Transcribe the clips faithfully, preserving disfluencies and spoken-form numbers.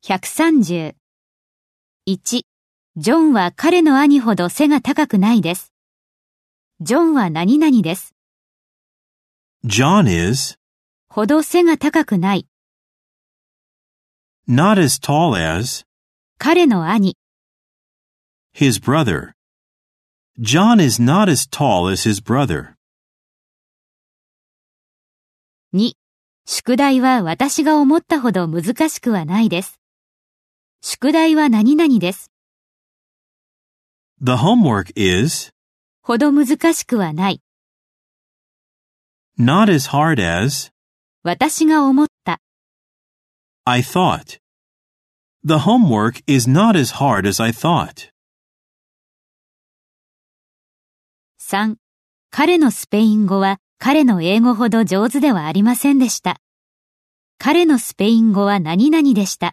ひゃくさんじゅう。いち、ジョンは彼の兄ほど背が高くないです。ジョンは何々です。 John is ほど背が高くない。 not as tall as 彼の兄。 his brother. John is not as tall as his brother. に、宿題は私が思ったほど難しくはないです。宿題は何々です。 The homework is ほど難しくはない。 not as hard as 私が思った。 I thought. The homework is not as hard as I thought. さん、彼のスペイン語は彼の英語ほど上手ではありませんでした。彼のスペイン語は何々でした。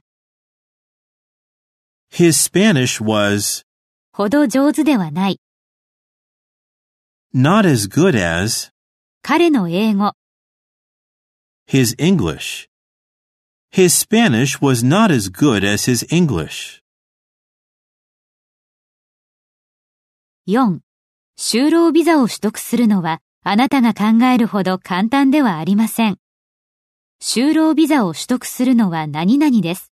His Spanish was ほど上手ではない。 not as good as 彼の英語。 his English. His Spanish was not as good as his English. よん、就労ビザを取得するのはあなたが考えるほど簡単ではありません。就労ビザを取得するのは何々です。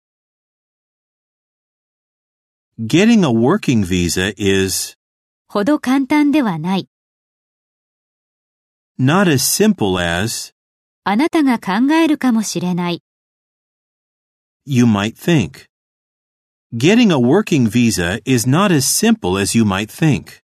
Getting a working visa is ほど簡単ではない。 not as simple as あなたが考えるかもしれない。 you might think. Getting a working visa is not as simple as you might think.